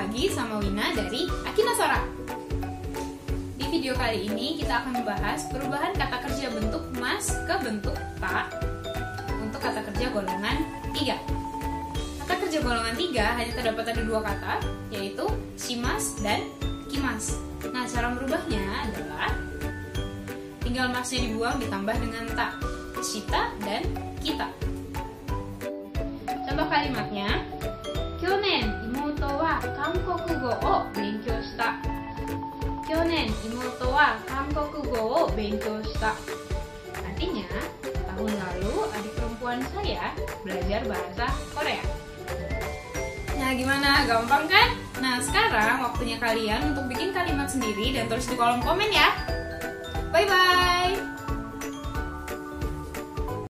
lagi sama Wina dari Akinasora. Di video kali ini kita akan membahas perubahan kata kerja bentuk mas ke bentuk ta untuk kata kerja golongan 3. Kata kerja golongan 3 hanya terdapat ada dua kata, yaitu shimas dan kimas. Nah, cara merubahnya adalah tinggal masnya dibuang ditambah dengan ta, shita dan kita. Contoh kalimatnya, Kyonen imoto wa Kankokugo o benkyou shita. Kyonen imoto wa Kankokugo o benkyou shita. Artinya, tahun lalu adik perempuan saya belajar bahasa Korea. Nah, gimana? Gampang kan? Nah, sekarang waktunya kalian untuk bikin kalimat sendiri dan tulis di kolom komen ya.